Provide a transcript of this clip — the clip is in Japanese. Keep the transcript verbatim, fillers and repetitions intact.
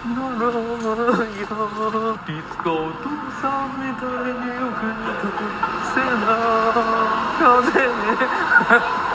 ならないよいつかお父さんみたいによく似たせな風